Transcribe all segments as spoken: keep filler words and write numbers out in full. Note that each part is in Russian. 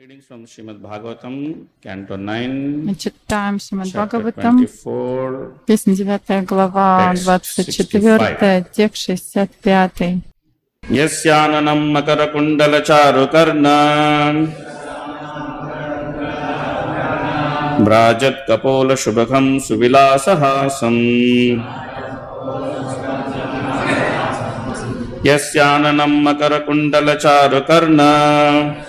Readings from Srimad Bhagavatam, Canto nine, читаем Шримад Бхагаватам, песня девятая глава, двадцать четвёртая, текст шестьдесят пятый. Ясянанам макаракундала чарукарна Брajat kapola shubhakam suvilasahasam Yasyananam makarakundala charukarna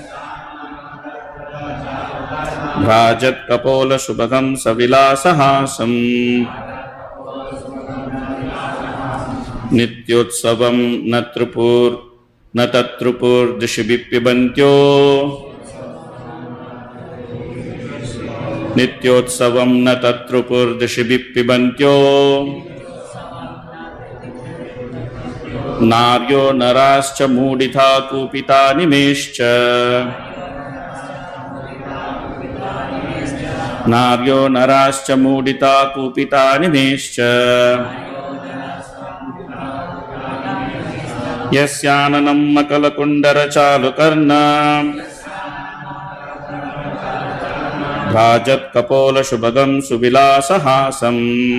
Brajat kapola shubhakam savilasahasam Nityotsavam natrupur natatrupur dishibipibantyo Nityotsavam natatrupur dishibipibantyo Naryo narascha muditha kupita nimescha Naryo narascha mudita kupita nimescha Yasyananam makalakundara chalukarna Rajat kapola shubhagam suvilasahasam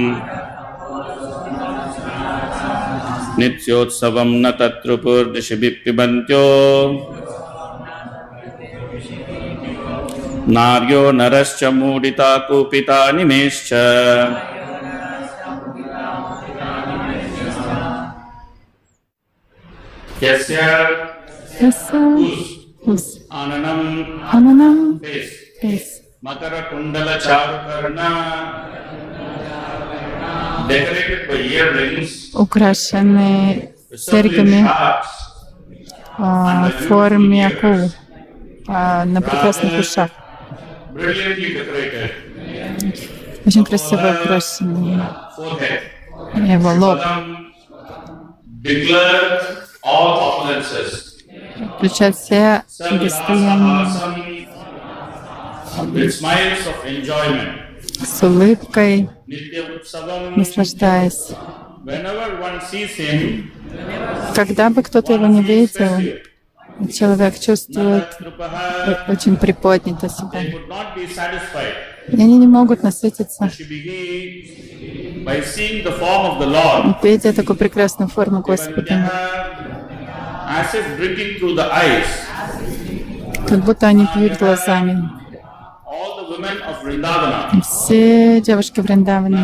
Nityotsavam natatrupur dishibipibantyo Naryo narascha mudita kupita nimescha Yasya Ус. Ananam Ананам. Face Face. Makara Kundala Charukarna Decorated by earrings Украшены серьгами а, в форме акул а, на прекрасных ушах. Brilliantly decorated Очень красиво украшены forehead его лоб. Declared all opulences Включает все достояния with smiles of enjoyment с улыбкой, Nitya Utsavam наслаждаясь. Whenever one sees him Когда бы кто-то его не видел, человек чувствует очень приподнято себя. they could not be satisfied И они не могут насытиться, She begins by seeing the form of the Lord видя такую прекрасную форму Господа. as if drinking through the eyes. Как будто они пьют глазами. All the women of Vrindavana, Все девушки Вриндаваны,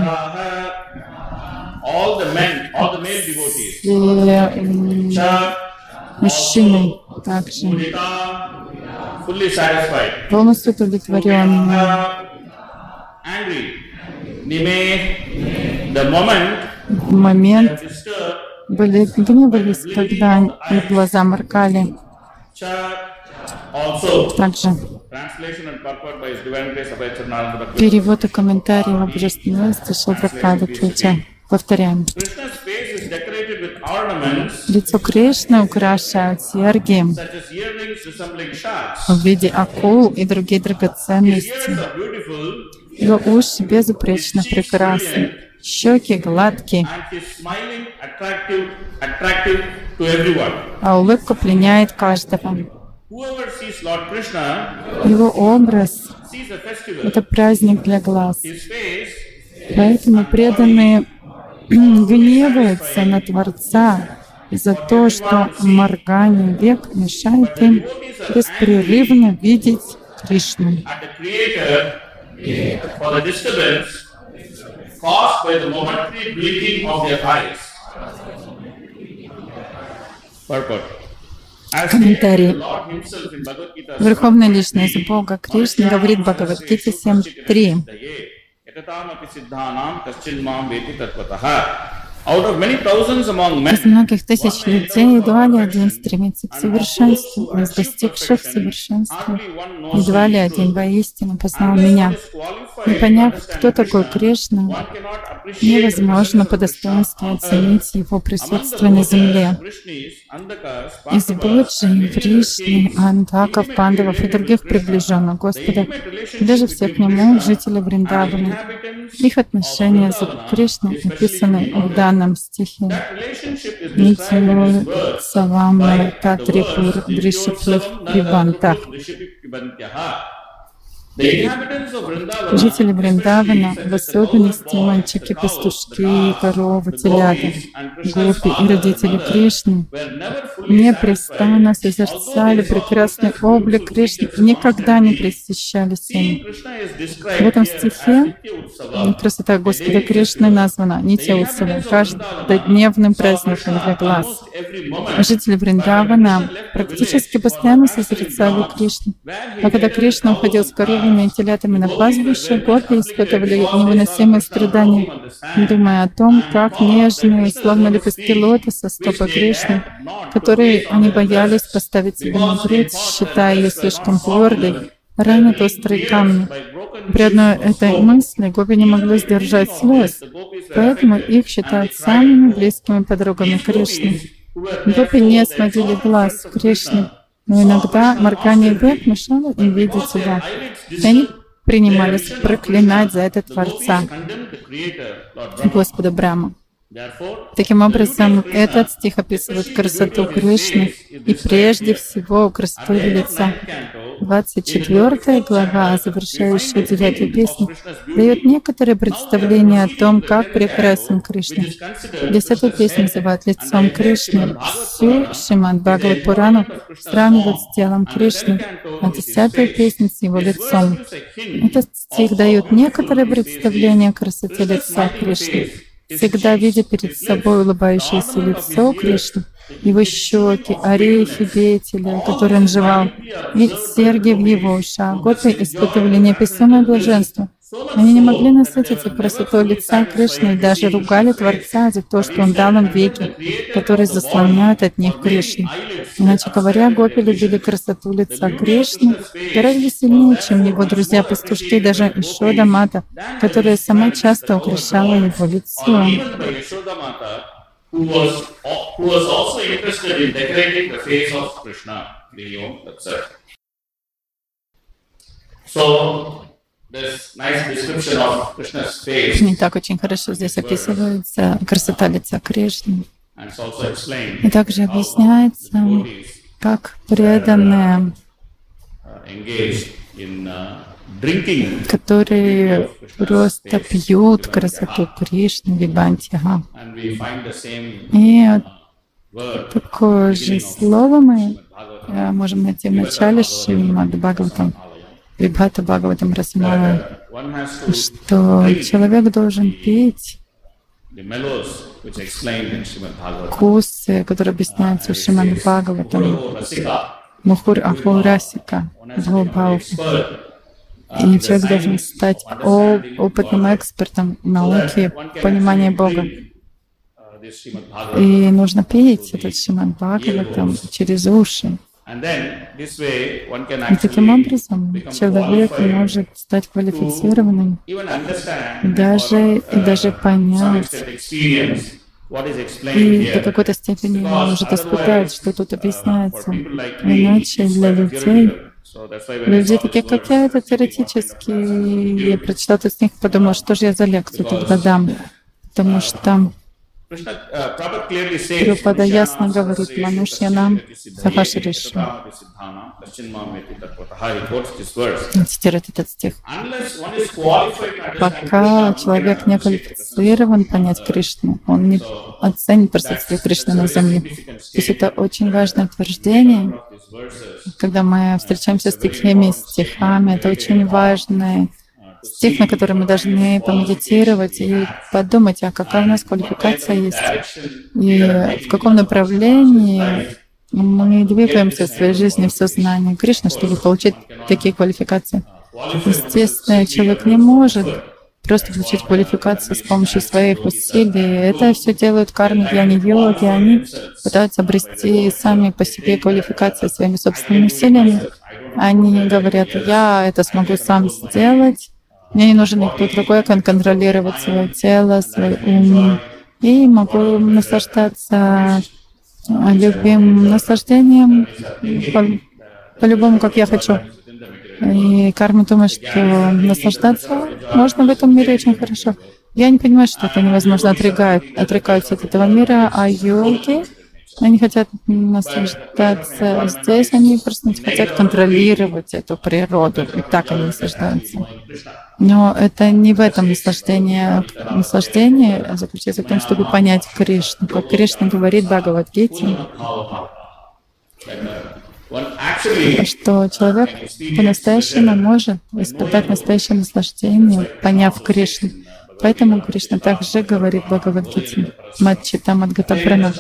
all the men, all the male devotees, все м, Cha, мужчины также Mudita, fully satisfied, полностью удовлетворенные. angry. Nime, the moment В момент disturbed, были гневались, когда их глаза моргали. Cha, also. Также Translation and purport by His Divine Grace Abhay Charananda Bhakti. перевод и комментарий в Божественности Шилпрапады Чуча. Повторяем. Krishna's face is decorated with ornaments Лицо Кришны украшают серьги such as earrings resembling sharks. в виде акул и другие His драгоценности. ears are beautiful Его уши безупречно прекрасны, щеки гладкие, and his smiling attractive, attractive to everyone. а улыбка пленяет каждого. Whoever sees Lord Krishna Его образ sees a — festival. это праздник для глаз. His face Поэтому преданные гневаются на Творца за то, что моргание век мешает им беспрерывно видеть Кришну. at the Creator for the disturbance caused by the momentary blinking of their eyes. Purport. As Комментарий. the Lord Himself in Bhagavad Gita Верховная Личность Бога Кришны говорит в Бхагавад-гите семь три. Out of many thousands among Из men, многих тысяч людей едва ли один стремится к совершенству, из достигших совершенства едва ли один воистину познал Меня. Не поняв, кто такой Кришна, невозможно по достоинству оценить его присутствие на земле. Из Боджи, Вришни, Андаков, Пандавов и других приближенных Господа, даже всех к Нему, жители Вриндавана, их отношения с Кришной описаны в данном стихе. Нитило Савамна Татрипур Дришиплых Вибантах. Жители Вриндавана, в особенности мальчики, пастушки, коровы, телята, гопи и родители Кришны, непрестанно созерцали прекрасный облик Кришны и никогда не пресыщались им. В этом стихе красота Господа Кришны названа Нитья Утсава, каждодневным праздником для глаз. Жители Вриндавана практически постоянно созерцали Кришну. А когда Кришна уходил с коровами и телятами на пастбище, гопи испытывали невыносимые страдания, думая о том, как нежные, словно лепестки лотоса, стопы Кришны, которые они боялись поставить себе на грудь, считая ее слишком твердой, ранят острые камни. При одной этой мысли гопи не могли сдержать слез, поэтому их считают самыми близкими подругами Кришны. Гопи не сводили глаз с Кришны, но иногда моргание век мешало им видеть его. И они принимались проклинать за это Творца, Господа Брахму. Таким образом, этот стих описывает красоту Кришны и прежде всего красоту его лица. двадцать четвёртая глава, завершающая девятую песню, дает некоторое представление о том, как прекрасен Кришна. Десятую песню называют лицом Кришны. Всю Шримад Бхагават Пурану сравнивают с телом Кришны, а десятую песню с его лицом. Этот стих дает некоторое представление о красоте лица Кришны. Всегда видя перед собой улыбающееся лицо Кришны, его щеки, орехи деятеля, которые он жевал, и серьги в его ушах, гопи испытывали неописуемое блаженство. Они не могли насытиться красотой лица Кришны и даже ругали Творца за то, что он дал им веки, которые заслоняют от них Кришну. Иначе говоря, гопи любили красоту лица Кришны гораздо сильнее, чем его друзья-пастушки, даже Ишода Мата, которая сама часто украшала его лицо. Who was, who was also interested in decorating the face of Krishna, Video, et cetera. So, this nice description of Krishna's face. Не так очень хорошо здесь описывается красота лица Кришны. И также объясняется, как преданные, которые просто пьют красоту Кришны, Вибантиха. И такое же слово мы можем найти в начале Шримад Бхагаватам, Вибхата Бхагаватам Расамала, что человек должен пить вкусы, которые описываются в Шримад Бхагаватам, Мухур Ахур Расика, Бхавбхава. И человек должен стать опытным экспертом науки, понимания Бога. И нужно петь этот Шримад Бхагаватам через уши. И таким образом человек может стать квалифицированным, даже, и даже понять, и до какой-то степени может испытать, что тут объясняется. Иначе для людей, люди такие, как я, это теоретически, я прочитал этот стих, подумал, что же я за лекцию тогда дам, потому что Прабхупада ясно говорит, Манушьянам Сахашришу. Цитирует этот стих. Пока человек не квалифицирован понять Кришну, он не оценит присутствие Кришны на земле. То есть это очень важное утверждение. Когда мы встречаемся с такими стихами, это очень важное стих, на который мы должны помедитировать и подумать, а какая у нас квалификация есть, и в каком направлении мы двигаемся в своей жизни в сознании Кришны, чтобы получить такие квалификации. Естественно, человек не может просто получить квалификацию с помощью своих усилий. Это все делают кармы, гьяни-йоги. Они пытаются обрести сами по себе квалификацию своими собственными усилиями. Они говорят, я это смогу сам сделать. Мне не нужен никто другой, я can контролировать свое тело, свой ум. И могу наслаждаться любым наслаждением по, по-любому, как я хочу. И карма думает, что наслаждаться можно в этом мире очень хорошо. Я не понимаю, что это невозможно, отрекают, отрекаются от этого мира, а йоги, они хотят наслаждаться здесь, они просто хотят контролировать эту природу, и так они наслаждаются. Но это не в этом наслаждение. Наслаждение заключается в том, чтобы понять Кришну. Как Кришна говорит в Бхагавад-гите, что человек по-настоящему может испытать настоящее наслаждение, поняв Кришну. Поэтому Кришна также говорит в Бхагавад-гите «Мадчита Мадгатапрана».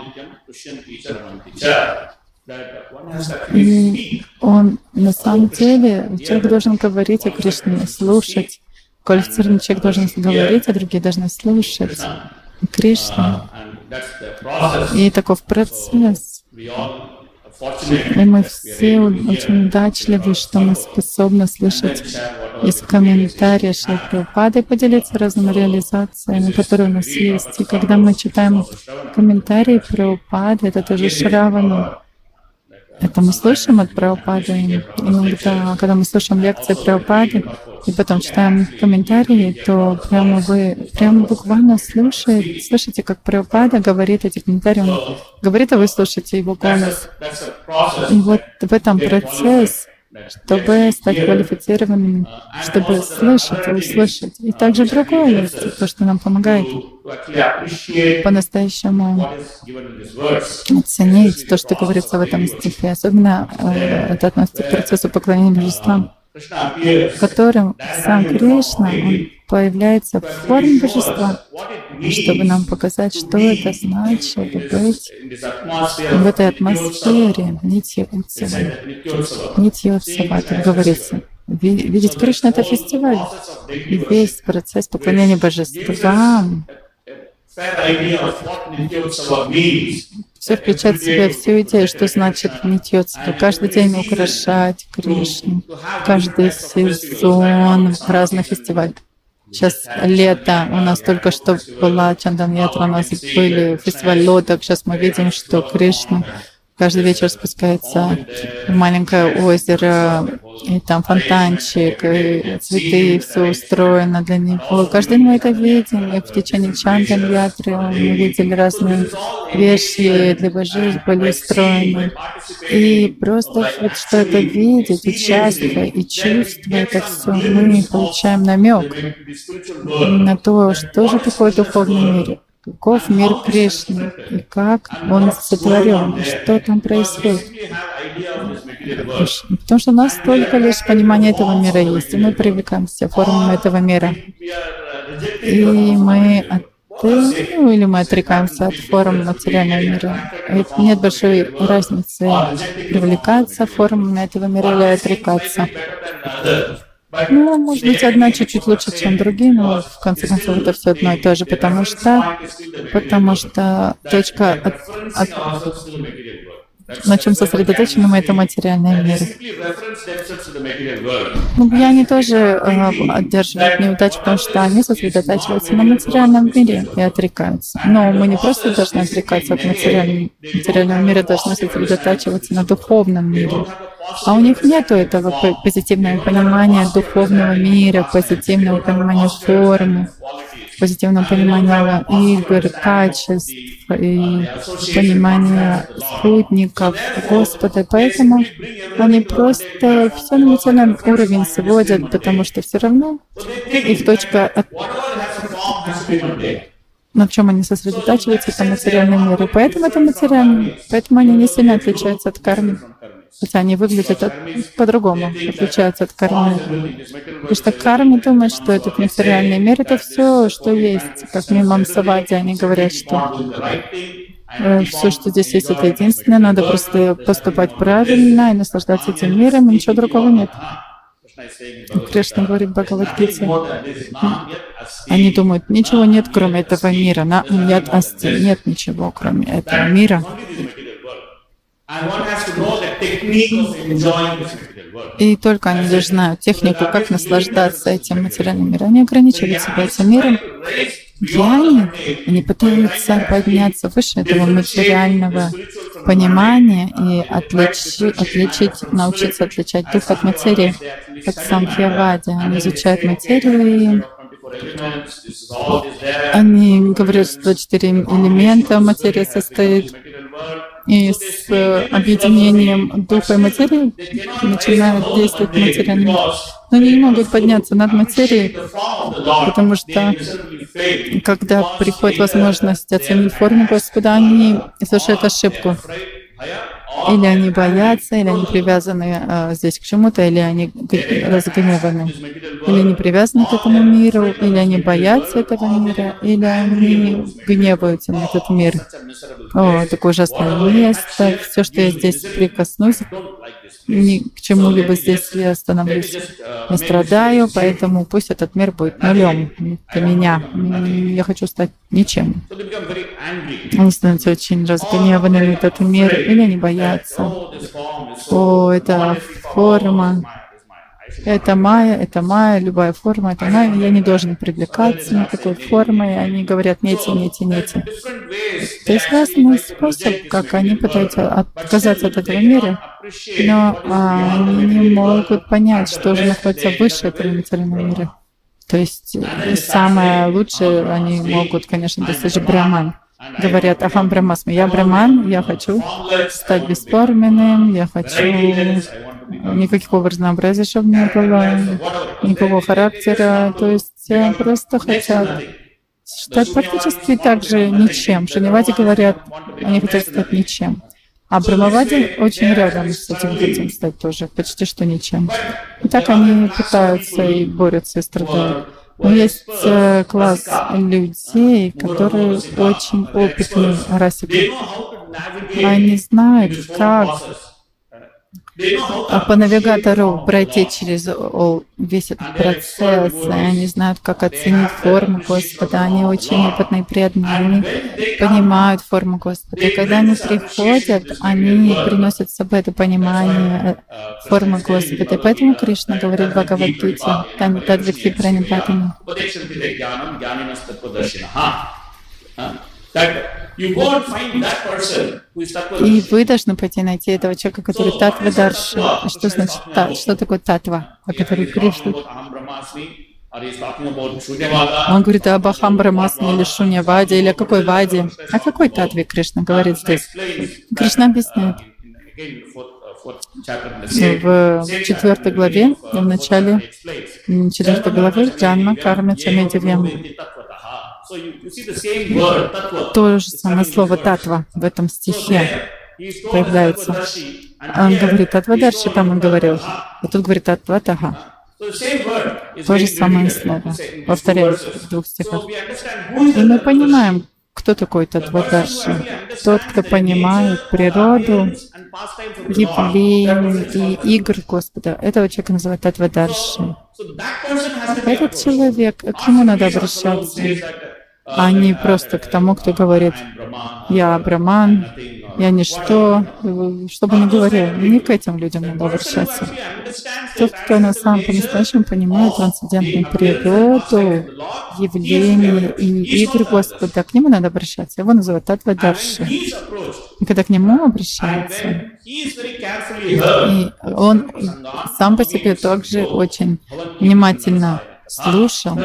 И он на самом деле, человек должен говорить о Кришне, слушать. Квалифицированный человек должен говорить, а другие должны слушать Кришну. И таков процесс. И мы все очень удачливы, что мы способны слышать из комментариев Шрила Прабхупады и поделиться разными реализациями, которые у нас есть. И когда мы читаем комментарии Прабхупады, это тоже Шравана. Это мы слышим от Прабхупады. Иногда, когда мы слушаем лекции Прабхупады и потом читаем комментарии, то прямо вы прямо буквально слушаете, слышите, как Прабхупада говорит эти комментарии. Он говорит, а вы слушаете его голос. И вот в этом процесс, чтобы стать квалифицированными, чтобы слышать и услышать. И также другое есть, то, что нам помогает по-настоящему оценить то, что говорится в этом стихе. Особенно э, это относится к процессу поклонения божествам, в котором сам Кришна, он появляется в форме божества, чтобы нам показать, что это значит быть в этой атмосфере Нитья Утсава. Нитья Утсава, так говорится. Видеть Кришну — это фестиваль. И весь процесс поклонения божествам все включает в себя всю идею, что значит Нитья Утсава. Каждый день украшать Кришну, каждый сезон разных фестивалей. Сейчас лето, у нас только что была Чандан-ятра, у нас были фестиваль лодок. Сейчас мы видим, что Кришна каждый вечер спускается в маленькое озеро, и там фонтанчик, и цветы, все устроено для него. Каждый день мы это видим, и в течение Чандан-ятры мы видели разные вещи для божеств были устроены. И просто вот что это видеть, участвовать и чувствовать это все, мы получаем намек на то, что же такое духовный мир. Каков мир Кришны и как он сотворен, и что там происходит. Потому что у нас только лишь понимание этого мира есть, и мы привлекаемся формам этого мира. И мы от, ну, или мы отрекаемся от форм материального мира. И нет большой разницы привлекаться формами этого мира или отрекаться. Ну, может быть, одна чуть-чуть лучше, чем другие, но в конце концов это все одно и то же, потому что, потому что точка, от, от, на чем сосредоточены мы, это материальный мир. Ну, они тоже э, одерживают неудачу, потому что они сосредотачиваются на материальном мире и отрекаются. Но мы не просто должны отрекаться от материального, материального мира, должны сосредотачиваться на духовном мире. А у них нет этого позитивного понимания духовного мира, позитивного понимания формы, позитивного понимания игр, качеств и понимания спутников Господа. Поэтому они просто все на материальный уровень сводят, потому что все равно их точка, от... на чем они сосредотачиваются, это материальный мир. И поэтому это материальный. Поэтому они не сильно отличаются от кармы. Хотя они выглядят от, по-другому, отличаются от кармы. Потому что карма думает, что этот материальный мир — это все, что есть. Как Мимам Савади, они говорят, что э, все, что здесь есть, это единственное. Надо просто поступать правильно и наслаждаться этим миром, и ничего другого нет. И Кришна говорит в Бхагавад-гите. Они думают, ничего нет, кроме этого мира. На умьят асти. Нет ничего, кроме этого мира. И только они лишь знают технику, как наслаждаться этим материальным миром. Они ограничивают себя этим миром. Гьяни, они пытаются подняться выше этого материального понимания и отличи, отличить, научиться отличать дух от материи, как Самхьявади. Они изучают материю, и они говорят, что двадцать четыре элемента материя состоит, и с объединением духа и материи начинают действовать материальный мир. Но они не могут подняться над материей, потому что когда приходит возможность оценить форму Господа, они совершают ошибку. Или они боятся, или они привязаны а, здесь к чему-то, или они разгневаны. Или они привязаны к этому миру, или они боятся этого мира, или они гневаются на этот мир. О, такое ужасное место. Все, что я здесь прикоснусь, ни к чему-либо здесь я становлюсь. Я страдаю, поэтому пусть этот мир будет нулем для меня. Я хочу стать ничем. Они становятся очень разгневаны на этот мир, или они боятся. О, это форма, это майя, это майя, любая форма, это майя. Я не должен привлекаться никакой формой. Они говорят нете, нете, нете. То есть разный способ, как они пытаются отказаться от этого мира, но они не могут понять, что же находится выше этого материального мира. То есть самое лучшее они могут, конечно, достичь Брахман. Говорят, ахам брахмасми, я браман, я хочу стать бесформенным, я хочу никакого разнообразия, чтобы не было, никакого характера. То есть просто хотят стать практически так же ничем. Шуньявади говорят, они хотят стать ничем. А Брахмавади очень рядом с этим хотим стать тоже, почти что ничем. И так они пытаются и борются, и страдают. Но есть э, класс людей, которые очень опытные расики. Они знают, как а по навигатору пройти через весь этот процесс, и они знают, как оценить форму Господа. Они очень опытные, преданные, они понимают форму Господа. И когда они приходят, они приносят с собой это понимание формы Господа. И поэтому Кришна говорит в Бхагавад-гите, «Тадвикти пранипатами». И вы должны пойти найти этого человека, который татва-дарши. Что значит та, что такое татва, о которой Кришна? Он говорит об Ахам Брахмасме или Шуньяваде, или о какой ваде. О какой татве Кришна говорит здесь? Кришна объясняет. В четвертой главе, в начале четвертой главы, Джанма Карма Чамедивьям. То же самое слово «татва» в этом стихе появляется. Он говорит «татвадарши», там он говорил, а тут говорит «татватаха». То же самое слово. Повторяем в двух стихах. И мы понимаем, кто такой татвадарши. Тот, кто понимает природу, явлений и игр Господа. Этого человека называют татвадарши. Этот человек, к нему надо обращаться, а не просто к тому, кто говорит «я Браман», «я ничто», что бы ни говорил. Не к этим людям надо обращаться. Тот, кто на самом по-настоящему понимает трансцендентную природу, явления и игры Господа, к нему надо обращаться. Его называют татвадарши. И когда к нему обращаются, и он сам по себе также очень внимательно слушал.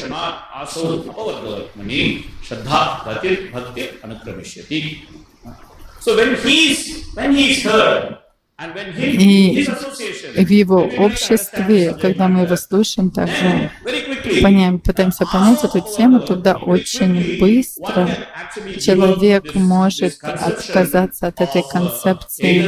И в его обществе, когда мы его слушаем, также понимаем, пытаемся понять эту тему, туда очень быстро человек может отказаться от этой концепции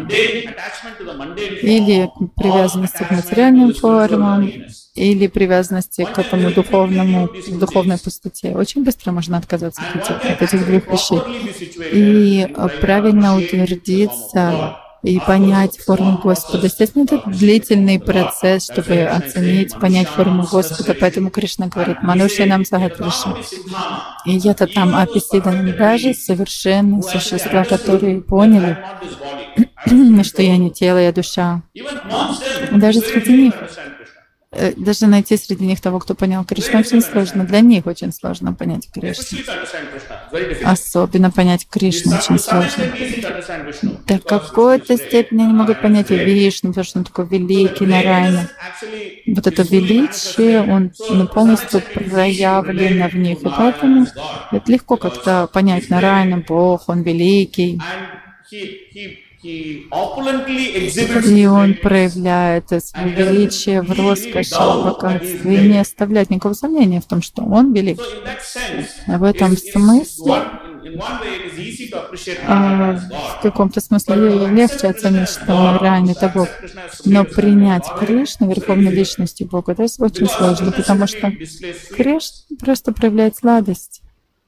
или привязанности к материальным формам, или привязанности к этому духовному, духовной пустоте. Очень быстро можно отказаться от этих, от этих двух вещей. И правильно утвердиться и понять форму Господа. Естественно, это длительный процесс, чтобы оценить, понять форму Господа. Поэтому Кришна говорит, «Манушья нам сагатриша». И это там описано даже совершенные существа, которые поняли, что я не тело, я душа. Даже среди них, даже найти среди них того, кто понял Кришну, очень сложно. Для них очень сложно понять Кришну. Особенно понять Кришну очень сложно. До какой-то степени они могут понять Вишну, потому что он такой великий, Нараяна. Вот это величие, он ну, полностью проявлено в них. И поэтому это легко как-то понять Нараяна, Бог, он великий. И он проявляет свое величие в роскоши, в богатстве, и не оставляет никакого сомнения в том, что он велик. В этом смысле, а, в каком-то смысле легче оценить, что реально это Бог. Но принять Кришну, Верховной Личности Бога, это очень сложно, потому что Кришна просто проявляет сладость.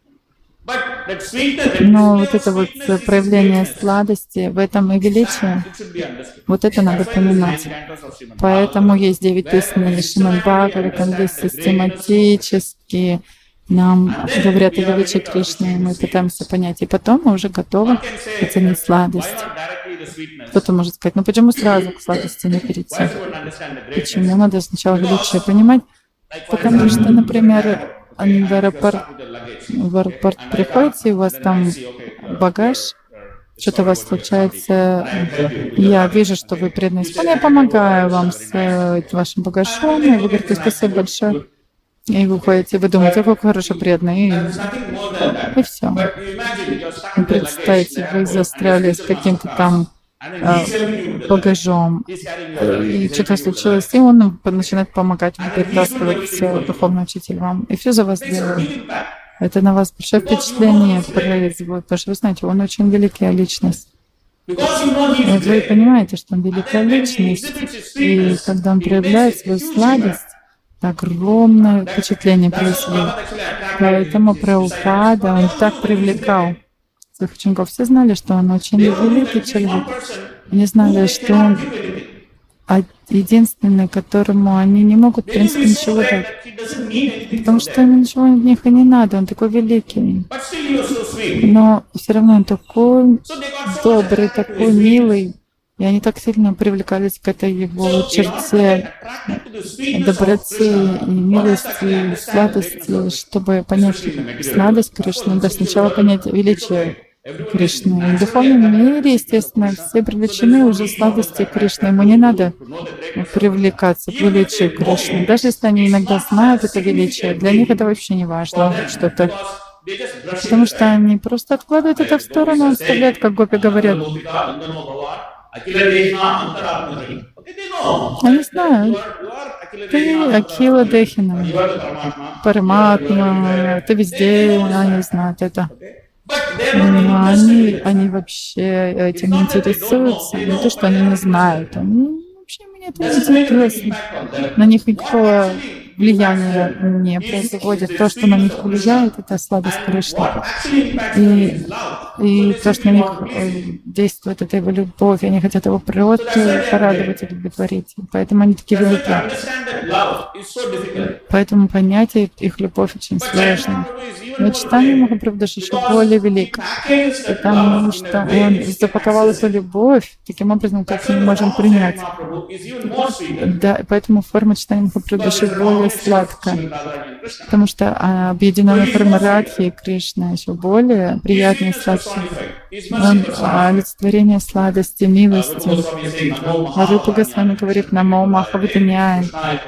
Но вот это вот проявление сладости, в этом и величие, вот это надо понимать. Поэтому есть девять песен Шримад Бхагаватам, где систематически нам говорят о величии Кришны, и мы пытаемся понять. И потом мы уже готовы оценить сладость. Кто-то может сказать, ну почему сразу к сладости не перейти? Почему надо сначала величие понимать? Потому что, например, в аэропорт, в аэропорт приходите, и у вас там багаж, что-то у вас случается, я вижу, что вы преданные, я помогаю вам с вашим багажом, и вы говорите, спасибо большое. И вы уходите, вы думаете, какой хороший преданный, и, и все. И представьте, вы застряли с каким-то там багажом, и что-то случилось, и он начинает помогать вам перетаскивать духовный учитель вам, и все за вас делает. Это на вас большое впечатление производит, потому что вы знаете, он очень великая личность. И вы понимаете, что он великая личность, и когда он проявляет свою сладость, огромное впечатление производит. Поэтому Прабхупада, он так привлекал своих учеников. Все знали, что он очень великий человек. Они знали, что он единственный, которому они не могут, в принципе, ничего дать. Потому что ему ничего от них и не надо, он такой великий. Но все равно он такой добрый, такой милый. И они так сильно привлекались к этой его черте доброты и милости, и сладости, чтобы понять сладость Кришны, надо сначала понять величие Кришны. В духовном мире, естественно, все привлечены уже сладостью Кришны. Ему не надо привлекаться к величию Кришны. Даже если они иногда знают это величие, для них это вообще не важно что-то. Потому что они просто откладывают это в сторону, оставляют, как гопи говорят. Они знают. Ты Акила Дехина, Параматма, ты везде, они знают это. Но они, они вообще этим не интересуются. Не то, что они не знают. Они вообще меня это не интересно. На них никакого влияния не производит. То, что на них влияет, это сладость Кришны. И, и то, что на них действует, это его любовь. Они хотят его природу порадовать и удовлетворить. Поэтому они такие великие. Поэтому понятие их любовь очень сложно. Но читание Махапрабху еще более велик, потому что он запаковал эту любовь таким образом, как мы можем принять. Да, поэтому форма читания Махапрабху еще более сладкая, потому что объединенная форма Радхи и Кришна еще более приятная и сладкая. Он олицетворение сладости, милости. А Рупа Госвами говорит «Намо Махавадиняй».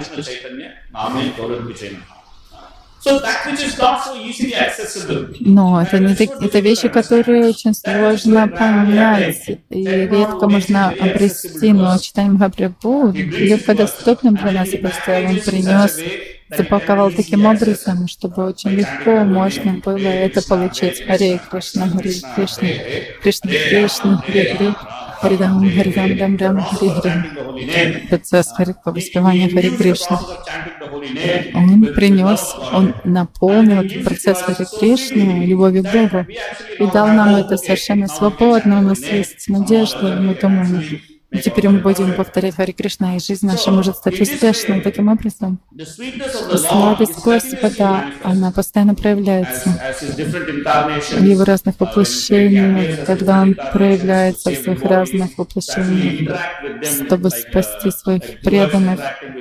Но это, не, это вещи, которые очень сложно понять и редко можно обрести. Но читание Махапрабху легкодоступным для нас поставил. Он принес, запаковал таким образом, чтобы очень легко можно было это получить. Харе Кришна, Харе Кришна, Кришна Кришна, Харе Харе. Харидам, Харидам, Дам, Дам, Хари Хари. Процесс воспевания Хари Кришны. Он принес, он наполнил этот процесс Хари Кришны любовью к Богу и дал нам это совершенно свободно. У нас есть надежда, мы думаем, И теперь мы будем повторять Харе Кришна, и жизнь наша может стать успешной. Таким образом, сладость Господа, она постоянно проявляется в Его разных воплощениях, когда Он проявляется в своих разных воплощениях, чтобы спасти своих преданных.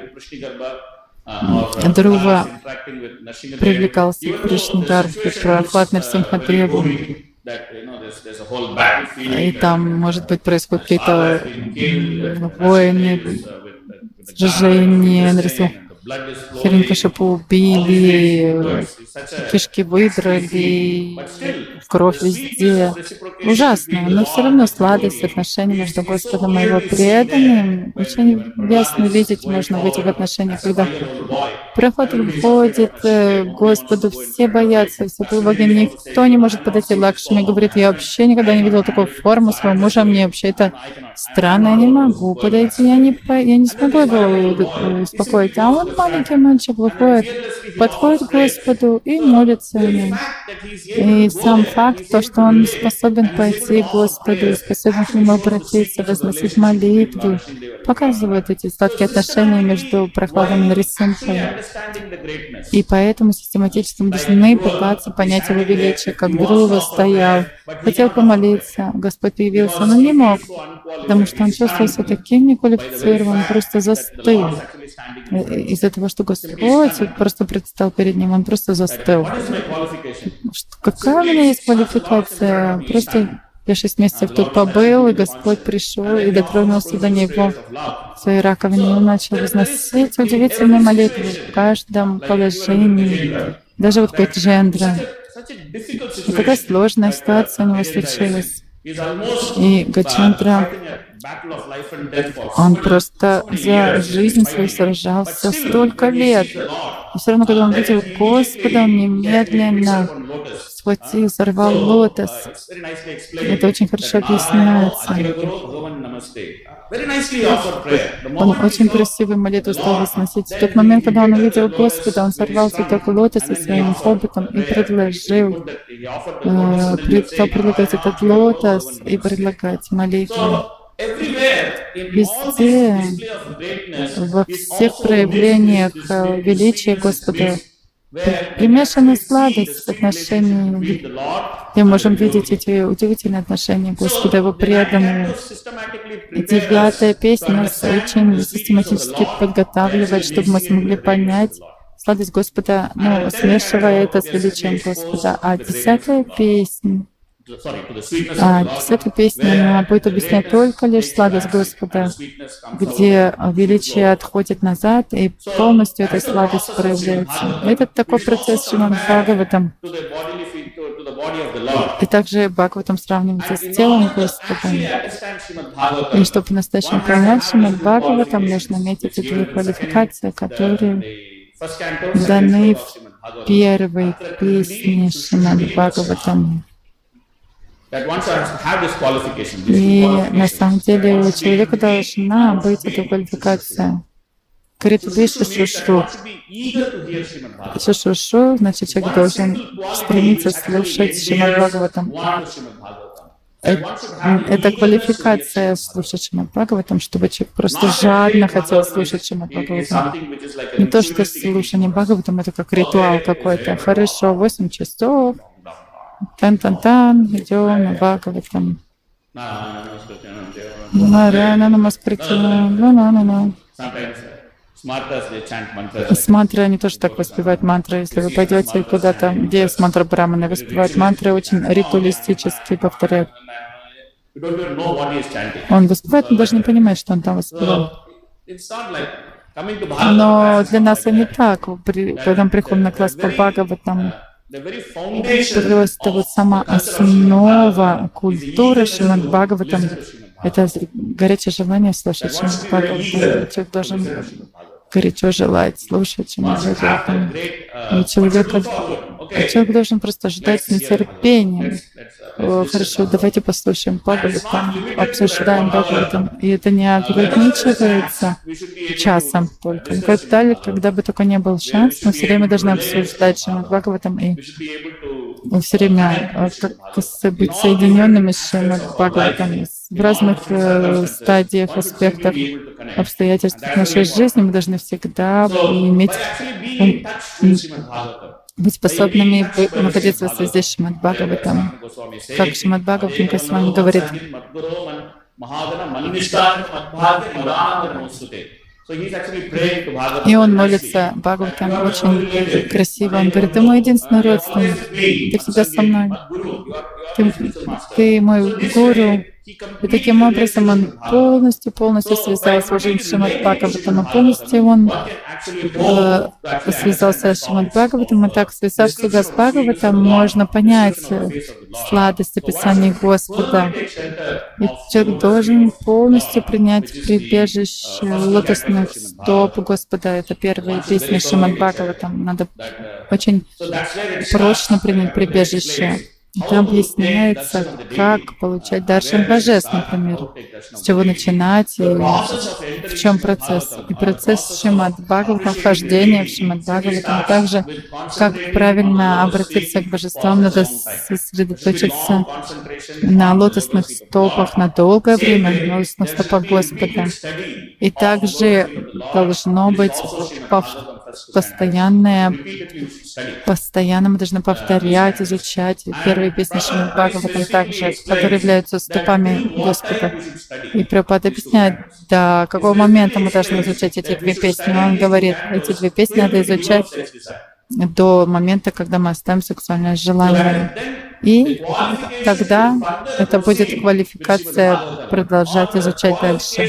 Друва привлекался к Кришнагарбхе, Прохлад Нарсимхадеву. И там, может быть, происходят какие-то войны, сражения, Хиринкашипу убили, кишки выдрали, кровь везде. Ужасно, но все равно сладость отношений между Господом и Его преданным. Очень ясно видеть можно в этих отношениях, когда проход входит к Господу, все боятся, все богини, никто не может подойти. Лакшми говорит: я вообще никогда не видела такую форму своего мужа, мне вообще это странно, я не могу подойти, я не, по... я не смогу его успокоить. А он, маленький мальчик, выходит, подходит к Господу и молится ему. И сам факт, то, что он способен пойти к Господу, способен к Нему обратиться, возносить молитвы, показывает эти сладкие отношения между Прохладом и Нарисимхой. И поэтому систематически мы должны пытаться понять Его величие, как Друва стоял, хотел помолиться, Господь появился, но не мог, потому что он чувствовал себя таким неквалифицированным, просто застыл. Из-за того, что Господь просто предстал перед ним, он просто застыл. Какая у меня есть квалификация? Просто я шесть месяцев тут побыл, и Господь пришел и дотронулся до него в своей раковине, и он начал возносить удивительные молитвы в каждом положении, даже вот как Джендра. И такая сложная ситуация у него случилась. И Гачендра, он просто за жизнь свою сражался столько лет. И все равно, когда он видел Господа, он немедленно схватил, сорвал лотос. Это очень хорошо объясняется. Он очень красивую молитву стал возносить. В тот момент, когда он увидел Господа, он сорвал цветок лотоса своим хоботом и предложил, э, стал предлагать этот лотос и предлагать молитву. Везде, во всех проявлениях величия Господа, примешана сладость отношений. Мы можем видеть эти удивительные отношения Господа, Его преданные. Девятая песня нас очень систематически подготавливает, чтобы мы смогли понять сладость Господа, ну, смешивая это с величием Господа. А десятая песня, А десятая песня, она будет объяснять только лишь сладость Господа, где величие отходит назад, и полностью эта сладость проявляется. Это такой процесс Шримад Бхагаватам. И также Бхагаватам сравнивается с телом Господа. И чтобы по-настоящему понять Шримад Бхагаватам, нужно иметь эти две квалификации, которые даны в первой песне Шримад Бхагаватам. И на самом деле у человека должна быть эта квалификация. Критвы шушрушу. Шушрушу, значит, человек должен стремиться слушать Шримад Бхагаватам. Это квалификация слушать Шримад Бхагаватам, чтобы человек просто жадно хотел слушать Шримад Бхагаватам. Не то, что слушание Бхагаватам — это как ритуал какой-то. Хорошо, восемь часов. Тан-тан-тан, идем на Бхагаватам. Нараяна намаскрити, на-на-на-на. С мантрой они тоже так воспевают мантры. Если вы пойдете куда-то, где с мантра Брахманы воспевают мантры, очень ритуалистически повторяют. Он воспевает, но даже не понимает, что он там воспевает. Но для нас они так, когда мы приходим на класс по Бхагаватам, просто вот сама основа культуры Шримад Бхагаватам — это горячее желание слушать Шримад Бхагаватам. Человек должен горячо желать слушать Шримад Бхагаватам. И человек, человек должен просто ждать с нетерпением. О, хорошо, давайте послушаем Бхагаватам, обсуждаем Бхагаватам. И это не ограничивается часом только. Когда, когда бы только не был шанс, мы все время должны обсуждать Шримад Бхагаватам и все время э, как с- быть соединенными с Шримад Бхагаватом в разных э, стадиях, аспектах, обстоятельствах нашей жизни. Мы должны всегда иметь, ум- м, быть способными бы- находиться в связи с Шримад Бхагаватом. Как Шримад Бхагаватам Госвами говорит, и он молится Бхагаватам очень красиво. Он говорит: ты мой единственный родственник, ты всегда со мной, ты, ты мой гуру. И таким образом он полностью, полностью связался уже с Шримад Бхагаватом, и полностью он э, связался с Шримад Бхагаватом, и так, связав себя с Бхагаватом, можно понять э, сладость описаний Господа. И человек должен полностью принять прибежище лотосных стоп Господа. Это первые песни Шримад Бхагаватам. Надо очень прочно принять прибежище. Там объясняется, как получать даршан божеств, например, с чего начинать и в чем процесс. И процесс Шримад Бхагаватам, вхождение в Шримад Бхагаватам, также как правильно обратиться к божествам, надо сосредоточиться на лотосных стопах на долгое время, на лотосных стопах Господа. И также должно быть постоянное, постоянно мы должны повторять, изучать первые песни Шримад Бхагаватам также, которые являются стопами Господа. И Прабхупада объясняет, до какого момента мы должны изучать эти две песни. Он говорит, эти две песни надо изучать до момента, когда мы оставим сексуальное желание. И тогда это будет квалификация продолжать изучать дальше.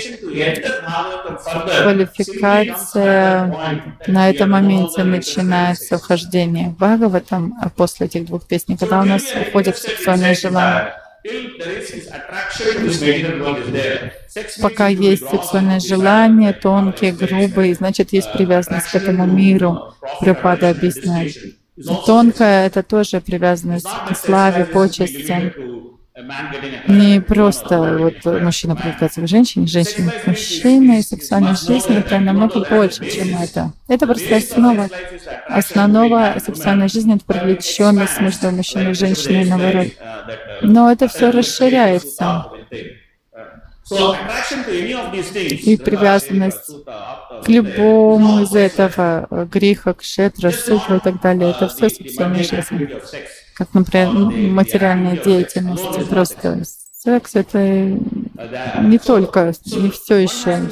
Квалификация на этом моменте начинается вхождение в Бхагаватам, а после этих двух песней, когда у нас уходит сексуальное желание. Пока есть сексуальное желание, тонкие, грубые, значит, есть привязанность к этому миру. Прабхупада объясняет. Тонкая — это тоже привязанность к славе, почестям. Не просто вот мужчина привлекается к женщине, женщина к мужчине, и сексуальная жизнь — это намного больше, чем это. Это просто основа. Основа сексуальной жизни — это привлеченность между мужчиной и женщиной, наоборот. Но это все расширяется. И привязанность к любому из этого, греха, кшетра, сутра и так далее, это все сексуальная жизнь. Как, например, материальная деятельность. Просто секс — это не только, не все еще,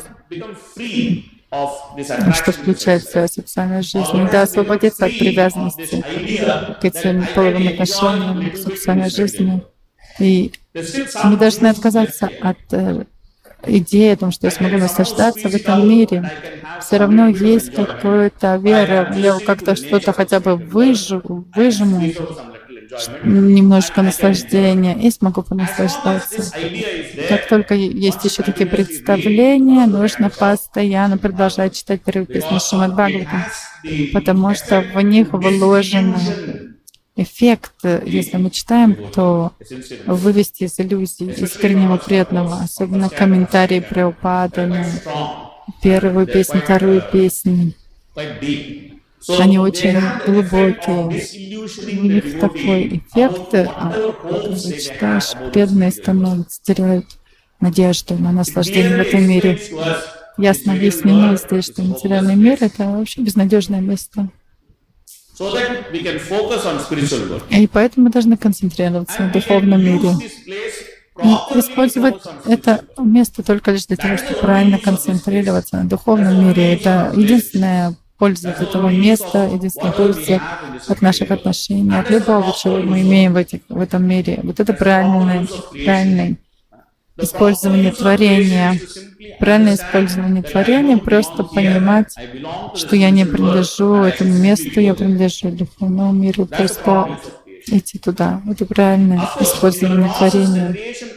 что включает в себя сексуальную жизнь. Надо освободиться от привязанности к этим половым отношениям, к сексуальной жизни. И мы должны отказаться от э, идеи о том, что я смогу наслаждаться в этом мире. Все равно есть какая-то вера, я как-то что-то хотя бы выжу, выжму, немножко наслаждения и смогу понаслаждаться. Как только есть еще такие представления, нужно постоянно продолжать читать первые песни Шримад Бхагаватам, потому что в них вложен эффект. Если мы читаем, то вывести из иллюзий искреннего преданного, особенно комментарии Прабхупады на первую песню, вторую песню. Они очень глубокие. У них такой эффект, когда читаешь, преданные становятся, теряют надежду на наслаждение в этом мире. Ясно объяснено здесь, что материальный мир — это вообще безнадежное место. И поэтому мы должны концентрироваться на духовном мире. И использовать это место только лишь для того, чтобы правильно концентрироваться на духовном мире. Это единственная польза от этого места, единственная польза от наших отношений, от любого, чего мы имеем в, этих, в этом мире. Вот это правильное, правильное использование творения. Правильное использование творения — просто понимать, что я не принадлежу этому месту, я принадлежу духовному миру, просто идти туда. Это правильное использование творения.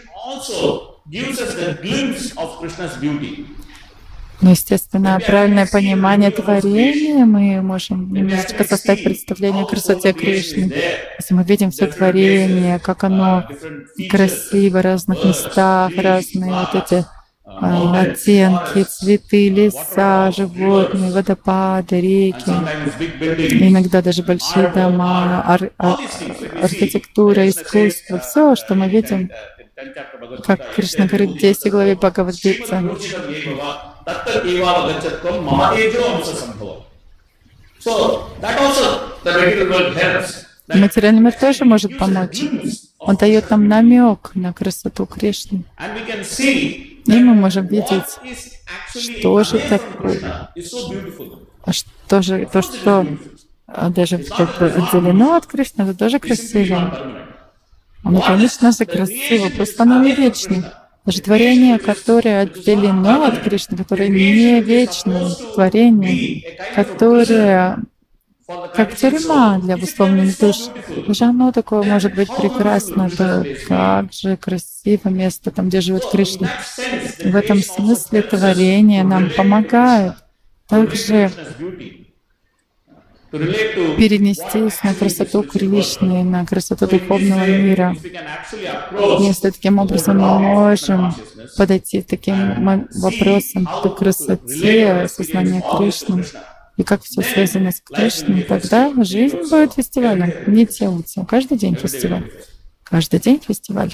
Но, естественно, правильное понимание творения, мы можем немножечко составить представление о красоте Кришны. Если мы видим все творение, как оно красиво в разных местах, разные вот эти а, оттенки, цветы, леса, животные, водопады, реки, иногда даже большие дома, ар- а- архитектура, искусство, все, что мы видим, как Кришна говорит в десятой главе Бхагавад-гиты. Материальный мир тоже может помочь. Он дает нам намек на красоту Кришны. И мы можем видеть, что же такое, а что же, то, что даже отделено от Кришны, это тоже красиво. Оно, конечно же, красиво, просто оно не вечно. Даже творение, которое отделено от Кришны, которое не вечное, творение, которое как тюрьма для обусловленных душ. Даже оно такое может быть прекрасно. Да, как же красиво место там, где живет Кришна. В этом смысле творение нам помогает также перенестись на красоту Кришны, на красоту духовного мира. Если таким образом мы можем подойти к таким вопросам, к красоте сознания Кришны, и как все связано с Кришной, тогда жизнь будет фестивалем, не телутся. Каждый день фестиваль. Каждый день фестиваль.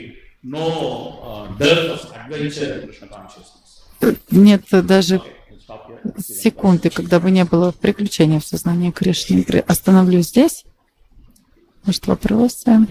Нет даже секунды, когда бы не было приключения в сознании Кришны. Остановлюсь здесь. Может, вопросы?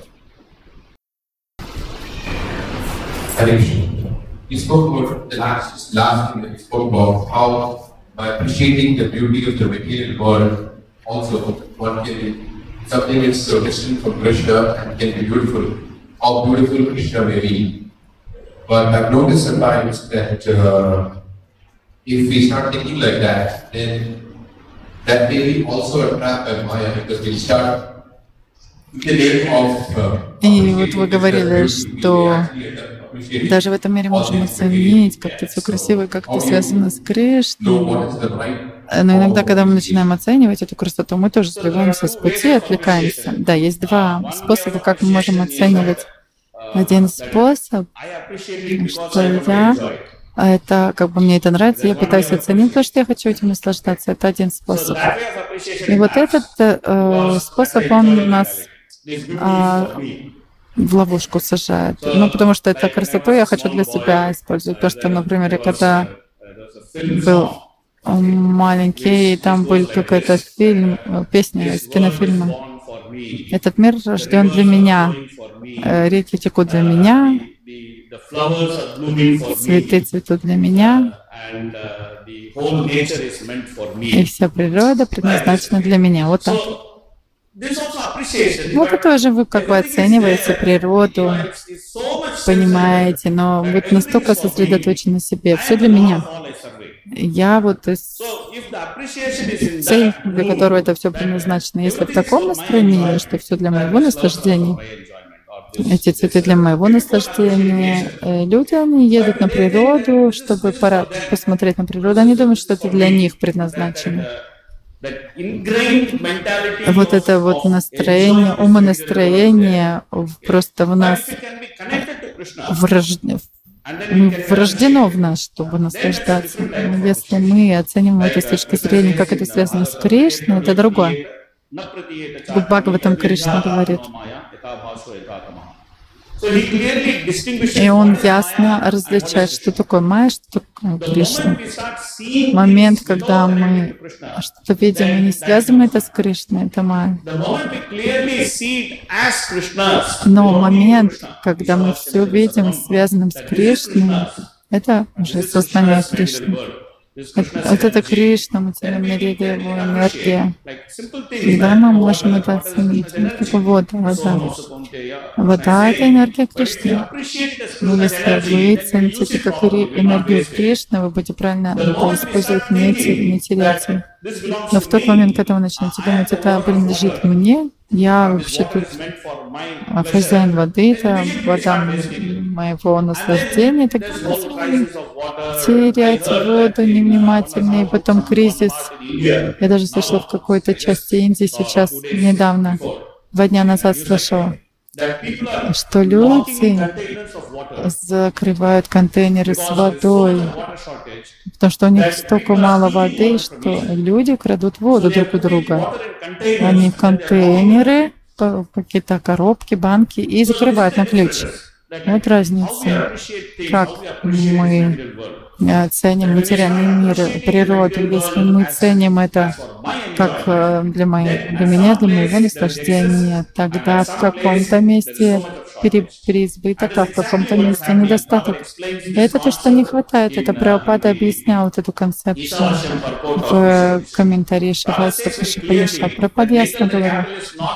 You spoke about the last, last thing that you spoke about, how by appreciating the beauty of the material world, also one can, something is so distant from Krishna and can be beautiful, how beautiful Krishna may be. But I've noticed sometimes that uh, if we start thinking like that, then that may be also a trap by Maya, because we start with the name of uh, И вот вы говорили, что даже в этом мире можем оценить как-то все красиво, как-то связано с Кришной. Но иногда, когда мы начинаем оценивать эту красоту, мы тоже сбиваемся с пути, отвлекаемся. Да, есть два способа, как мы можем оценивать. Один способ, что я, это как бы мне это нравится, я пытаюсь оценить, потому что я хочу этим наслаждаться. Это один способ. И вот этот э, способ, он нас э, в ловушку сажает. Ну, потому что эту красоту я хочу для себя использовать. То, что, например, я когда был маленький, и там был какой-то фильм, песня из кинофильма. Этот мир рожден для меня. Реки текут для меня. Цветы цветут для меня. И вся природа предназначена для меня. Вот так. Вот это тоже вы как бы оцениваете природу, понимаете, но вы настолько сосредоточены на себе. Все для меня. Я вот из... цель, для которой это все предназначено. Если в таком настроении, что все для моего наслаждения, эти цветы для моего наслаждения, люди, они едут на природу, чтобы пора посмотреть на природу, они думают, что это для них предназначено. Вот это вот настроение, умонастроение просто в нас врождено, врождено в нас, чтобы наслаждаться. Но если мы оцениваем это с точки зрения, как это связано с Кришной, это другое. В Бхагаватам Кришна говорит. И он ясно различает, что такое майя, что такое Кришна. Момент, когда мы что-то видим и не связываем это с Кришной, это майя. Но момент, когда мы все видим связанным с Кришной, это уже сознание Кришны. Вот это Кришна, материальный мир, это его энергия. Да, мы можем это оценить. Это вода, вода. Вода — это энергия Кришны. Но если вы цените это как энергию Кришны, вы будете правильно это использовать, не терять. Но в тот момент, когда вы начнете думать, это принадлежит мне, я вообще тут хозяин воды, это вода моего наслаждения, так терять воду невнимательно, и потом кризис. Я даже слышала в какой-то части Индии сейчас, недавно, два дня назад слышала, что люди закрывают контейнеры с водой, потому что у них столько мало воды, что люди крадут воду друг у друга. Они в контейнеры, какие-то коробки, банки и закрывают на ключ. Вот разница, как мы ценим материальный мир, природу. Если мы ценим это как для, моей, для меня, для моего наслаждения, тогда в каком-то месте пере, переизбыток, а в каком-то месте недостаток. И это то, что не хватает. Это Прабхупада объяснял вот эту концепцию в комментарии Шиваса Пашапаяша. Прабхупада ясно говорил.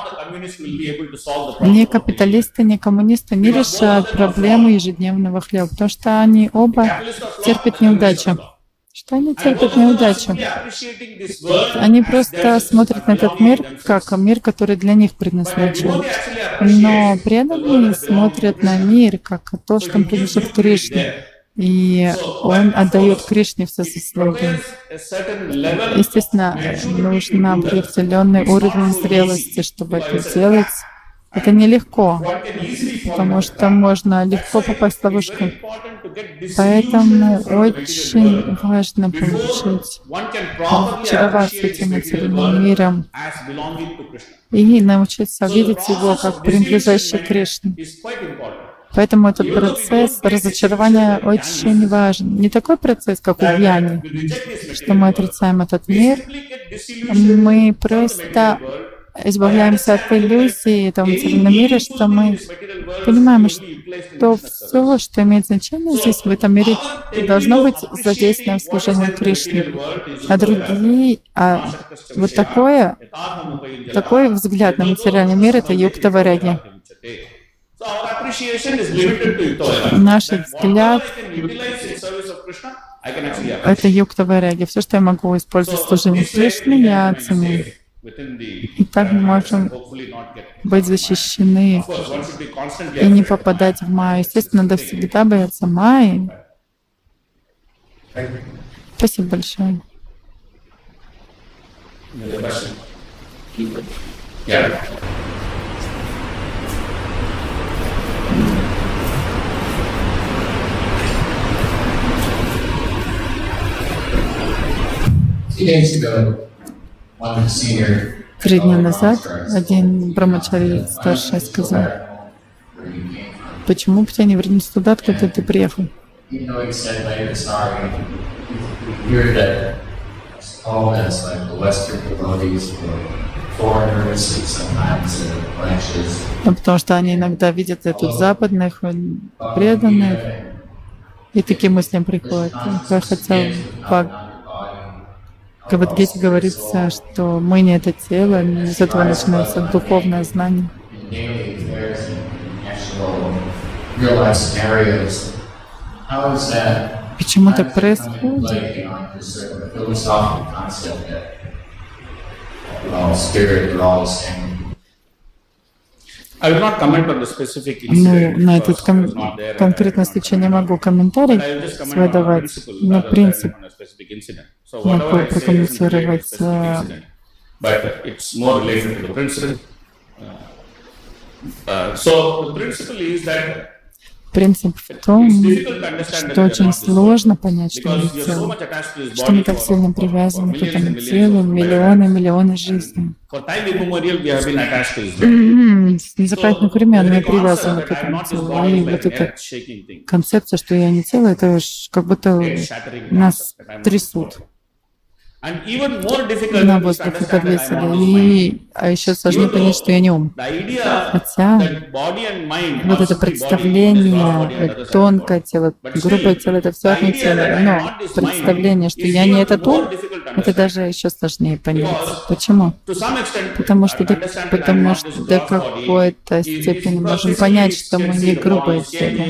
Ни капиталисты, ни коммунисты не решают проблему ежедневного хлеба, потому что они оба терпят неудачу. Что они терпят неудачу? Они просто смотрят на этот мир как мир, который для них предназначен. Но преданные смотрят на мир как то, что принадлежит Кришне. И он отдает Кришне все заслуги. Естественно, нужен определенный уровень зрелости, чтобы это сделать. Это нелегко, потому что можно легко попасть в ловушку. Поэтому очень важно получить, очароваться этим материальным миром и научиться видеть его как принадлежащий Кришне. Поэтому этот процесс разочарования очень важен. Не такой процесс, как у Гьяни, что мы отрицаем этот мир, мы просто избавляемся от иллюзии этого материального мира, что мы понимаем, что все, что имеет значение здесь, в этом мире, должно быть задействовано в служении Кришне. А другие, а вот такое, такой взгляд на материальный мир — это юкта-вайраги. Наш взгляд — это юкта-вайраги. Все, что я могу использовать в служении Кришне, я оценю. И так мы можем быть защищены и не попадать в майю. Естественно, надо всегда бояться майи. Спасибо большое. Три дня назад один брамачари старший сказал: почему бы тебя не вернуться туда, откуда ты приехал? Ну, потому что они иногда видят тут западных преданных, и такие мысли приходят. Я хотел В Бхагавад-гите говорится, что мы не это тело, с этого начинается духовное знание. Почему так происходит? Ну, на этот кон- конкретный случай не могу комментарий свой давать, но принцип могу прокомментировать. Принцип в том, что очень сложно понять, что мы тело, что мы так сильно привязаны к этому телу, миллионы, миллионы жизней. С незапамятных времен мы привязаны к этому телу. И вот эта концепция, что я не тело, это уж как будто нас трясут. На воздухе подвесили. И, а еще сложнее понять, что я не ум. Хотя вот это представление, тонкое тело, грубое тело, это все одно тело. Но представление, что я не этот ум, это даже еще сложнее понять. Почему? Потому что до, потому что до какой-то степени можем понять, что мы не грубое тело.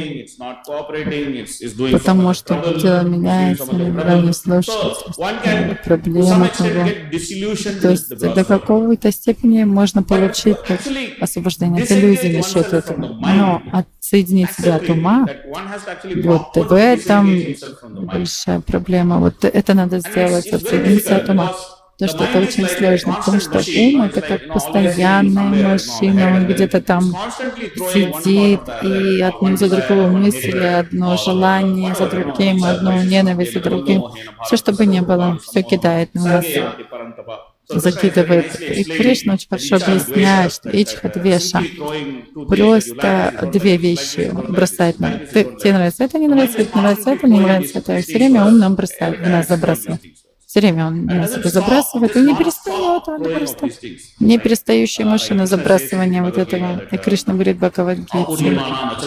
Потому что тело меняется, иногда не слушается. Проблема того. То есть до какой-то степени можно получить освобождение от иллюзий насчет этого. Но отсоединить себя от ума, вот в этом большая проблема. Вот это надо сделать, отсоединиться от ума. Потому что это очень сложно, потому что ум — это как постоянная машина, он где-то там сидит, и одну за другую мысли, одно желание за другим, одну ненависть за другим. Все, что бы ни было, все кидает на нас, закидывает. И Кришна очень хорошо объясняет, что ичхадвеша — просто две вещи бросает нам. Ты, тебе нравится это, не нравится, это нравится, это не нравится, это. Все время ум нам бросает, в нас забрасывает. Все время он нас это забрасывает, и не перестает, он просто не перестающая машина забрасывания вот этого. И Кришна говорит в Бхагавад-гите.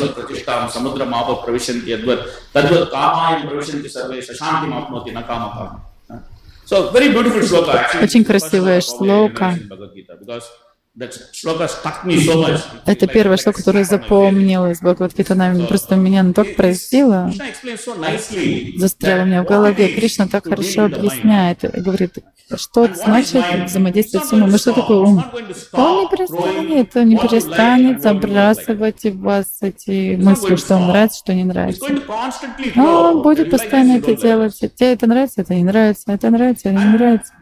Очень красивая шлока. Это первое шлока, которое запомнилось в Бхагавад-гите. Просто меня оно так поразило, застряло у меня в голове. Кришна так хорошо объясняет, говорит, что значит взаимодействовать с умом. И что такое ум? Он не перестанет, он не перестанет забрасывать в вас эти мысли, что вам нравится, что не нравится. Он будет постоянно это делать. Тебе это нравится, это не нравится, это нравится, это не нравится.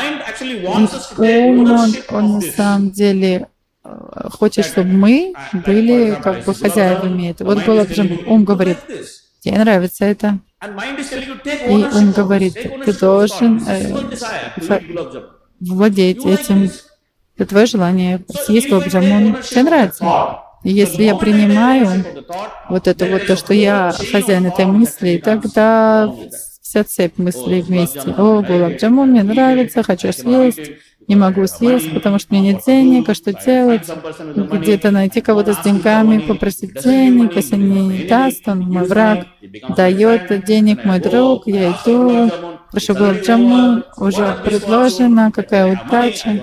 И ум, он, он на самом деле хочет, чтобы мы были как бы хозяевами этого. Вот было, ум говорит, тебе нравится это. И ум говорит, ты должен э, владеть этим. Это твое желание съесть гулаб-джамун. Тебе нравится. И если я принимаю вот это вот то, что я хозяин этой мысли, тогда вся цепь мыслей вместе. О, гулаб-джамун мне нравится, хочу съесть. Не могу съесть, потому что у меня нет денег, а что делать? Где-то найти кого-то с деньгами, попросить денег, если не даст, он мой враг, дает денег мой друг, я иду, прошу гулаб-джамун, уже предложено, какая удача.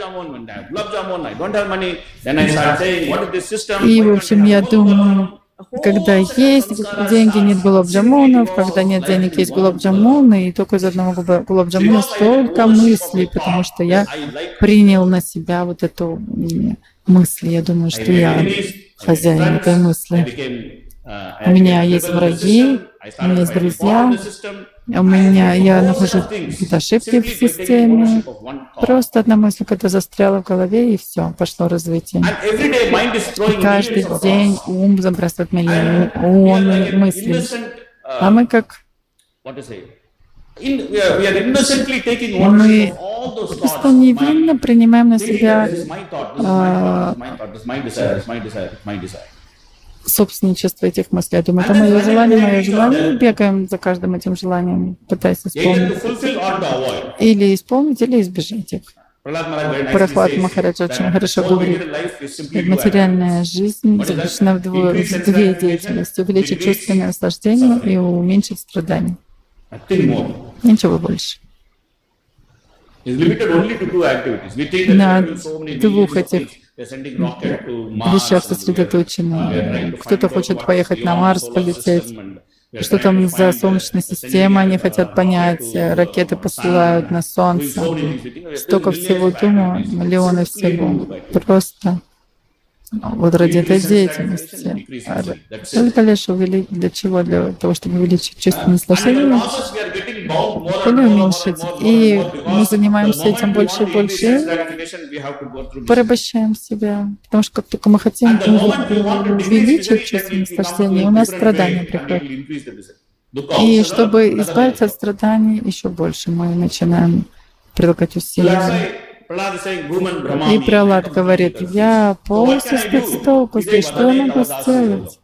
И, в общем, я думаю, когда есть деньги, нет гулаб-джамунов, когда нет денег, есть гулаб-джамуны, и только из одного гулаб-джамуна столько мыслей, потому что я принял на себя вот эту мысль. Я думаю, что я хозяин этой мысли. У меня есть враги, у меня есть друзья, у меня, я нахожу какие-то ошибки в системе. Просто одна мысль, которая застряла в голове, и все, пошло развитие. И каждый день ум забрасывает миллионы мыслей. А мы как? Мы просто невинно принимаем на себя а, собственничество этих мыслей. Я думаю, это мое желание, мое желание. Бегаем за каждым этим желанием, пытаясь исполнить. Или исполнить, или избежать их. Прохлад Махарадж очень хорошо говорит, материальная жизнь заключена в, дво, в две деятельности. Увеличить чувственное наслаждение и уменьшить страдания. Ничего больше. На двух этих вещах сосредоточены. Кто-то хочет поехать на Марс, полететь. Что там за Солнечная система, они хотят понять. Ракеты посылают на Солнце. Столько всего думаю, миллионы всего. Просто вот ради этой деятельности. Только лишь увеличить, для чего? Для того, чтобы увеличить чувственное наслаждение или уменьшить. И мы занимаемся этим больше и больше, порабощаем себя. Потому что как только мы хотим увеличить чувственное наслаждение, у нас страдания приходят. И чтобы избавиться от страданий еще больше, мы начинаем прилагать усилия. И Пралад говорит, я полностью спит с толку, что я могу сделать?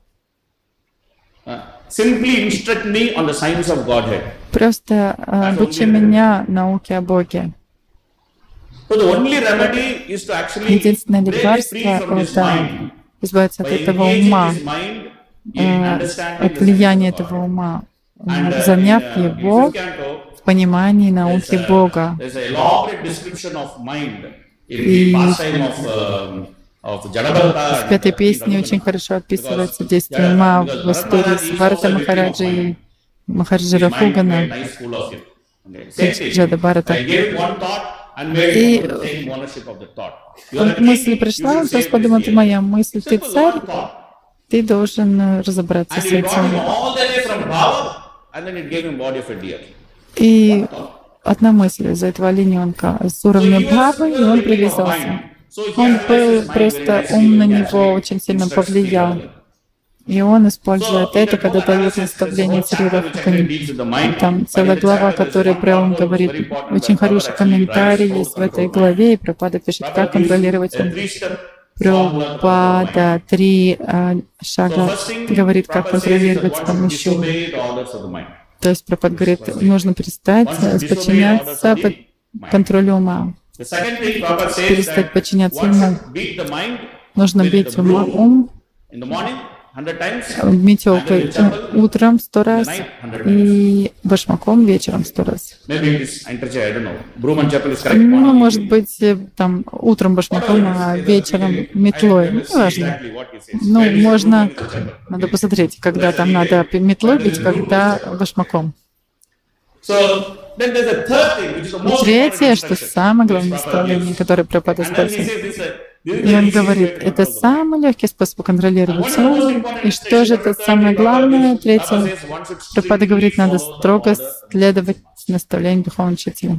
Просто обучи меня науке о Боге. Единственное лекарство — это избавиться от этого ума, от влияния этого ума, заняв его в понимании науки Бога. И в пятой песне очень хорошо описывается действие ума в истории с Бхарата Махараджа и Махараджа Рахугана, Джада Бхарата. И мысль пришла, он просто подумал, это моя мысль, ты царь, ты должен разобраться с этим. И одна мысль из этого олененка с уровня бхавы, и он привязался. Он был просто ум на него очень сильно повлиял. И он использует это, когда дает наставление Цари Рахукани. Там целая глава, которая прям говорит, очень хороший комментарий есть в этой главе, и Прабхупада пишет, как контролировать ум. Прабхупада три а, шага говорит, как контролировать с помощью. То есть Прабхупада говорит, нужно перестать подчиняться под контролю ума. Перестать подчиняться уму. Нужно бить ум метелкой утром сто раз и башмаком вечером сто раз. Ну, может быть, там утром башмаком, а вечером метлой. Ну, неважно. Ну, можно, надо посмотреть, когда там надо метлой бить, когда башмаком. И третье, что самое главное наставление, которое Прабхупада использует. И он говорит, это самый легкий способ контролировать ум. И что же это самое главное? Третье. Прабхупада говорит, надо строго следовать наставлениям духовного учителя.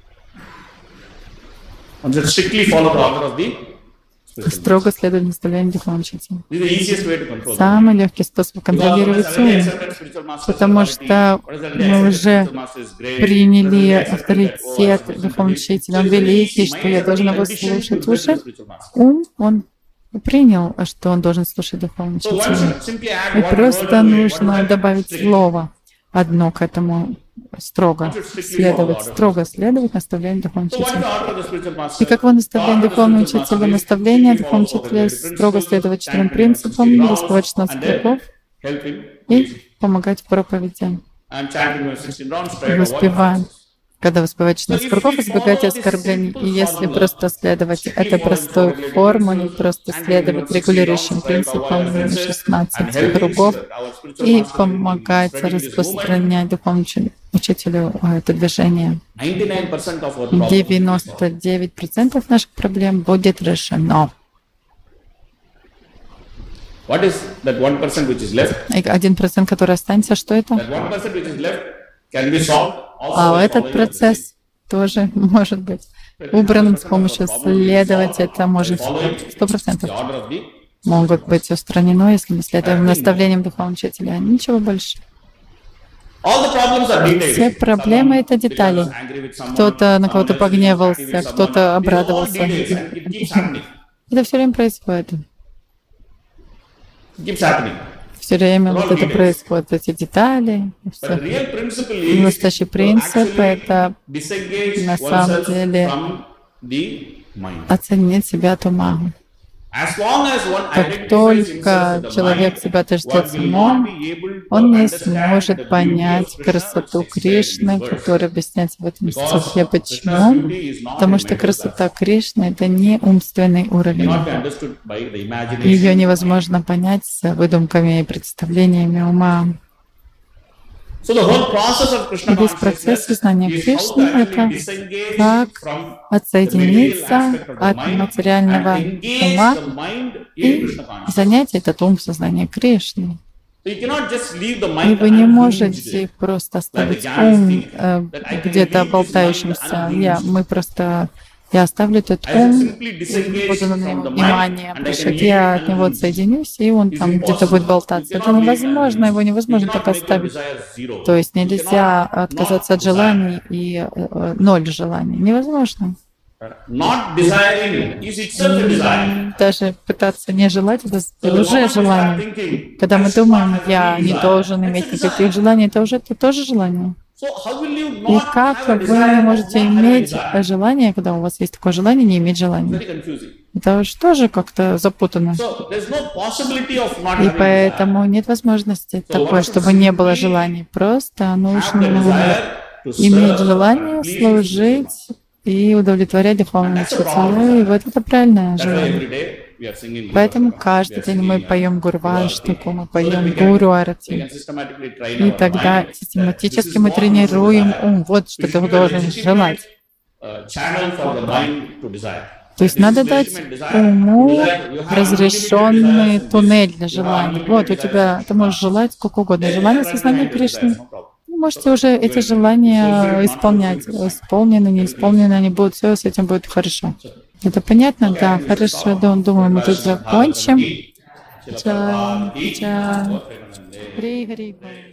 Строго следовать наставлениям духовного учителя. Самый легкий способ контролировать ум. Потому что мы уже приняли авторитет духовного учителя. Он великий, что я должен его слушать. Уже ум, он принял, что он должен слушать духовного учителя. И просто нужно добавить слово одно к этому. Строго следовать, строго следовать наставлению духовного учителя. И как вы наставление духовного учителя, наставление духовного учителя строго следовать четырем принципам, раскрывать шестнадцать кругов и помогать в проповеди. И воспеваем. Когда воспеваете шестнадцать кругов, избегайте оскорблений. И если просто следовать этой простой формуле, просто следовать регулирующим принципам шестнадцати кругов и помогать распространять духовному учителю это движение, девяносто девять процентов наших проблем будет решено. Один процент, который останется, что это? А этот процесс тоже может быть убран с помощью следовать. Это может сто процентов могут быть устранено, если мы следуем наставлениям духовного учителя. Ничего больше. Все проблемы — это детали. Кто-то на кого-то погневался, кто-то обрадовался. Это все время происходит. Все время вот это происходит, эти детали. Настоящий принцип — это на самом деле оценить себя от ума. Как только человек себя отождествляет умом, он не сможет понять красоту Кришны, которая объясняется в этом стихе. Почему? Потому что красота Кришны — это не умственный уровень. Ее невозможно понять с выдумками и представлениями ума. И весь процесс знания Кришны — это как отсоединиться от материального ума и занять этот ум в сознании Кришны. И вы не можете просто оставить ум э, где-то болтающимся. Я, мы просто... Я оставлю этот ум, буду на него внимание обращать, я от него отсоединюсь, и он там где-то будет болтаться. Это невозможно, его невозможно так оставить. То есть нельзя отказаться от желаний и э, ноль желаний. Невозможно. Даже пытаться не желать, это уже желание. Когда мы думаем, я не должен иметь никаких желаний, это уже это тоже желание. И как вы можете иметь желание, когда у вас есть такое желание, не иметь желания? Это же тоже как-то запутано. И поэтому нет возможности такой, чтобы не было желаний. Просто нужно иметь желание служить и удовлетворять духовному учителю. И вот это правильное желание. Поэтому каждый день мы поем Гурваштаку, мы поем Гуру Арати. И тогда систематически мы тренируем ум. Вот что ты должен желать. То есть надо дать уму разрешенный туннель для желаний. Вот у тебя, ты можешь желать сколько угодно. Желание сознания Кришны. можете уже эти желания исполнять. Исполнены, не исполнены, они будут, все с этим будет хорошо. Это понятно? Да, хорошо. Да, думаю, мы тут закончим. Ча, ча. Хри, хри.